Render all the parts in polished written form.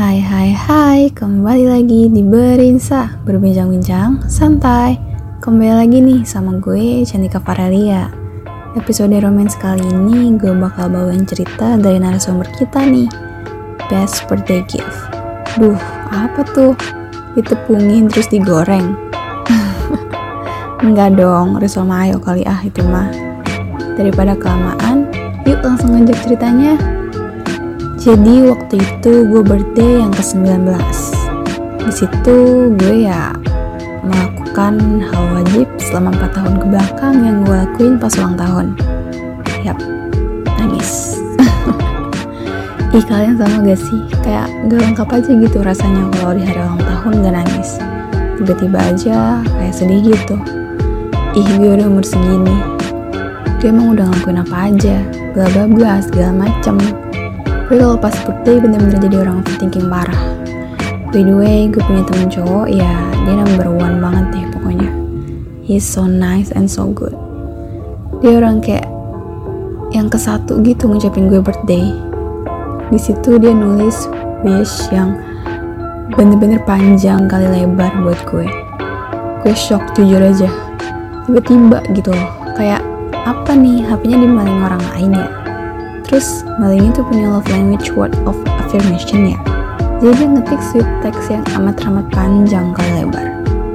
Hai, kembali lagi di Berinsa, berbincang-bincang santai. Kembali lagi nih sama gue, Cantika Farelia. Episode romance kali ini gue bakal bawain cerita dari narasumber kita nih, Best Birthday Gift. Duh, apa tuh? Ditepungin terus digoreng? Enggak dong, risol mayo kali itu mah. Daripada kelamaan, yuk langsung ngajak ceritanya. Jadi waktu itu gue birthday yang ke-19. Di situ gue melakukan hal wajib selama 4 tahun ke belakang yang gue lakuin pas ulang tahun. Yap, nangis. Ih, kalian sama gak sih? Kayak gak lengkap aja gitu rasanya kalau di hari ulang tahun gak nangis. Tiba-tiba aja kayak sedih gitu. Ih, gue udah umur segini. Gue emang udah ngelakuin apa aja, bla bla bla segala macem. Gue kalau pas birthday bener-bener jadi orang overthinking parah. By the way, gue punya temen cowok, dia number one banget deh pokoknya. He's so nice and so good. Dia orang kayak yang ke-1 gitu ngucapin gue birthday. Di situ dia nulis wish yang bener-bener panjang kali lebar buat gue. Gue shock jujur aja. Tiba-tiba gitu loh, kayak apa nih, HP-nya dimaling orang lain ya. Terus malingnya tuh punya love language word of affirmation ya. Jadi dia ngetik sweet text yang amat-amat panjang kali lebar.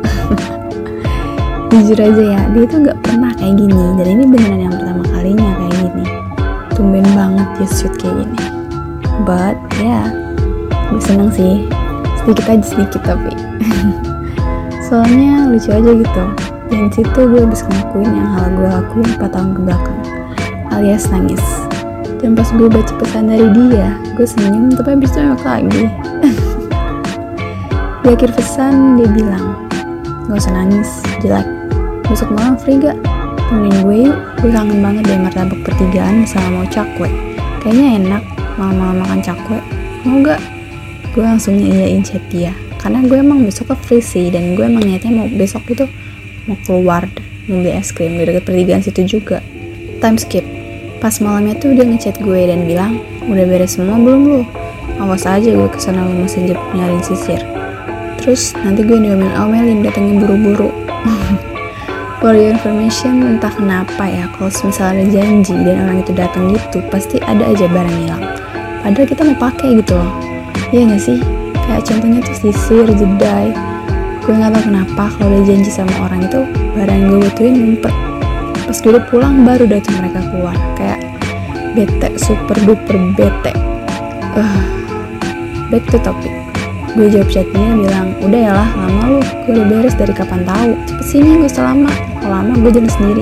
Jujur aja ya, dia tuh gak pernah kayak gini. Dan ini beneran yang pertama kalinya kayak gini. Tumben banget dia sweet kayak gini. But gue seneng sih. Sedikit tapi soalnya lucu aja gitu. Dan situ gue habis ngelakuin yang hal gue lakuin 4 tahun ke belakang, alias nangis. Dan pas gue baca pesan dari dia, gue senyum tapi habis itu nengok lagi. Di akhir pesan dia bilang, gak usah nangis, jelek. Besok malam free gak? Temenin gue yuk, gue kangen banget deh martabak pertigaan sama mau cakwe. Kayaknya enak malam-malam makan cakwe. Mau gak? Gue langsung nyayain chat dia, karena gue emang besok ke free sih. Dan gue emang niatnya mau besok itu mau keluar, mau beli es krim di dekat pertigaan situ juga. Time skip. Pas malamnya tuh dia ngechat gue dan bilang, udah beres semua belum lu? Awas aja gue kesana lu masih nyariin sisir. Terus nanti gue diomelin datengin buru-buru. For your information, entah kenapa ya, kalau misalnya ada janji dan orang itu datang gitu, pasti ada aja barang hilang. Padahal kita mau pakai gitu loh. Iya gak sih? Kayak contohnya tuh sisir, jedai. Gue gak tau kenapa kalau udah janji sama orang itu, barang yang gue butuhin ngumpet. Pas gue udah pulang baru dah tuh mereka keluar. Kayak bete, super duper bete. Back to topic. Gue jawab chatnya bilang, udah ya lah, lama lu, gue udah beres dari kapan tahu. Cepet sini, gak usah lama. Kalau lama gue jalan sendiri.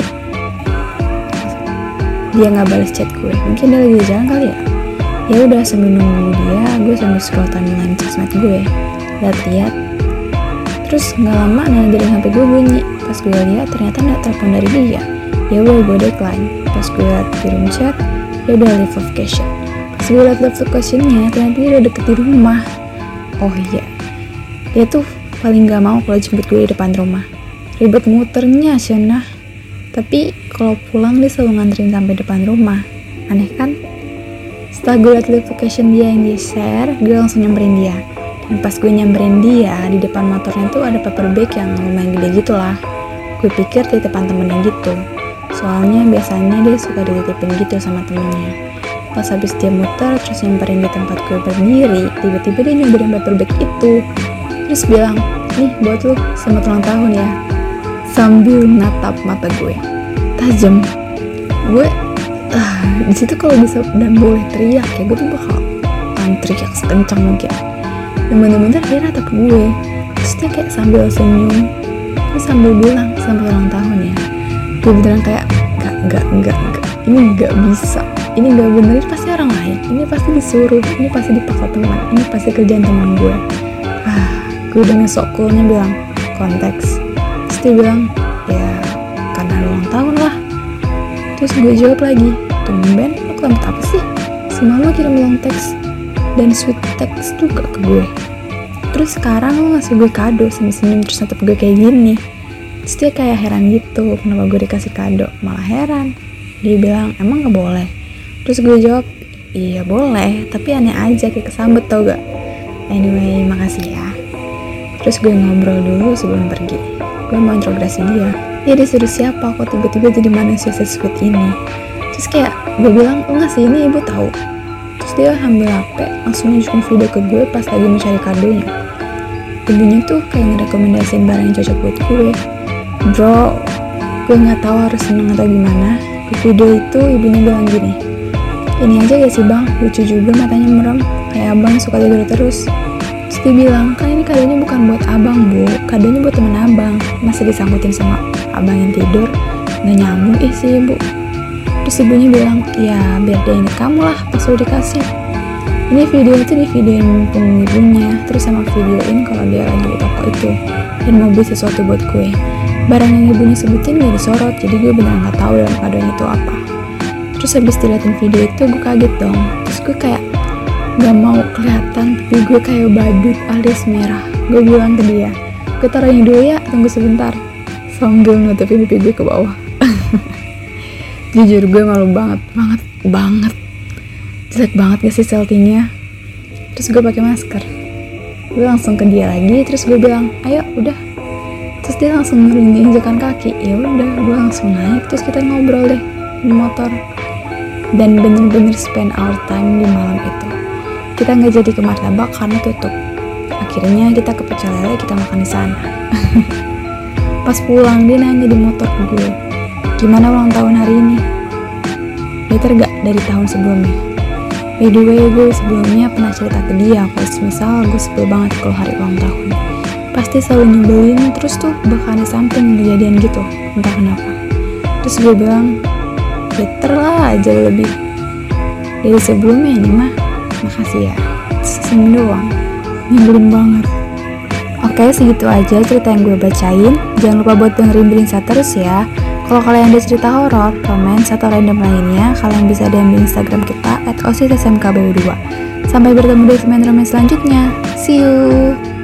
Dia gak balas chat gue, mungkin dia lagi jalan kali ya. Ya udah, sambil nunggu dia, gue sambil scroll timeline sosmed gue, lihat-lihat. Terus gak lama nanya HP gue bunyi. Pas gue lihat ternyata ada telepon dari dia. Ya udah, gue decline. Pas gue liat kirim chat, dia udah leave location. Pas gue liat leave locationnya, ternyata dia udah deket di rumah. Oh iya, dia tuh paling gak mau kalau jemput gue di depan rumah. Ribet muternya Shana. Tapi kalau pulang dia selalu nganterin sampai depan rumah. Aneh kan? Setelah gue liat live location dia yang dia share, gue langsung nyamperin dia. Dan pas gue nyamperin dia, di depan motornya tuh ada paper bag yang lumayan gede gitu lah. Gue pikir titipan temennya gitu, soalnya biasanya dia suka dititipin gitu sama temennya. Pas habis dia muter terus nyamperin di tempat gue berdiri, tiba-tiba dia nyobain paper bag itu. Terus bilang, nih buat lu, selamat ulang tahun ya. Sambil natap mata gue tajam. Gue di situ kalau bisa dan boleh teriak ya, gue tuh bakal teriak sekencang mungkin. Dan bener-bener dia natap gue, terus dia kayak sambil senyum, terus sambil bilang selamat ulang tahun ya. Gue beneran kayak enggak, ini enggak bisa, ini enggak bener, ini pasti orang lain, ini pasti disuruh, ini pasti dipaksa teman, ini pasti kerjaan teman gue. Gue dengan sok coolnya bilang konteks. Terus dia bilang, ya karena ulang tahun lah. Terus gue jawab lagi, tumben lo kelamat apa sih? Semalam lo kirim long text dan sweet text juga ke gue. Terus sekarang lo ngasih gue kado senyum-senyum terus natap gue kayak gini. Terus dia kayak heran gitu, kenapa gue dikasih kado. Malah heran. Dia bilang, emang gak boleh? Terus gue jawab, iya boleh, tapi aneh aja kayak kesambet tau gak. Anyway, makasih ya. Terus gue ngobrol dulu sebelum pergi. Gue mau interogasi dia. Dia disuruh siapa kok tiba-tiba jadi manusia sesweet ini. Terus kayak gue bilang, enggak sih, ini ibu tahu. Terus dia ambil HP, langsung nunjukin video ke gue pas lagi mau cari kadonya. Ibunya tuh kayak ngerekomendasiin barang yang cocok buat gue. Bro, gue gak tahu harus seneng atau gimana. Di video itu ibunya bilang gini, ini aja gak sih bang, lucu juga matanya merem, kayak abang suka tidur terus. Terus dia bilang, kan ini kadonya bukan buat abang bu, kadonya buat temen abang. Masa disangkutin sama abang yang tidur, gak nyambung sih ibu. Terus ibunya bilang, ya biar dia inget kamu lah pas udah dikasih. Ini video itu di videoin mumpung ibunya, terus sama videoin kalau dia lagi di toko itu dan mau beli sesuatu buat gue. Barang yang ibunya sebutin gak disorot, jadi gue benar gak tahu dalam kadonya itu apa. Terus habis diliatin video itu gue kaget dong. Terus gue kayak gak mau kelihatan pipi gue kayak badut alias merah. Gue bilang ke dia, gue taruhin dulu ya, tunggu sebentar, sambil nutupin pipi gue ke bawah. Jujur gue malu banget. Jelek banget gak sih selfie-nya. Terus gue pakai masker. Gue langsung ke dia lagi, terus gue bilang, ayo udah. Terus dia langsung nurunin injakan kaki. Ya udah, gue langsung naik, terus kita ngobrol deh di motor. Dan bener-bener spend our time di malam itu. Kita nggak jadi ke Martabak karena tutup. Akhirnya kita ke Pecel Lele, kita makan di sana. Pas pulang dia nanya di motor ke gue, gimana ulang tahun hari ini? Better gak dari tahun sebelumnya? By the way, gue sebelumnya pernah cerita ke dia kalau misal gue sebel banget kalau hari ulang tahun. Pasti selalu nyebelin, terus tuh bakal ada something kejadian gitu, entah kenapa. Terus gue bilang, better lah aja lebih dari sebelumnya ini mah. Makasih ya. Senyum doang, nyebelin banget. Oke, segitu aja cerita yang gue bacain. Jangan lupa buat dengerin Brinsa terus ya. Kalau kalian ada cerita horor, romance, atau random lainnya, kalian bisa DM di Instagram kita @osissmkbw2. Sampai bertemu di segmen romance selanjutnya. See you!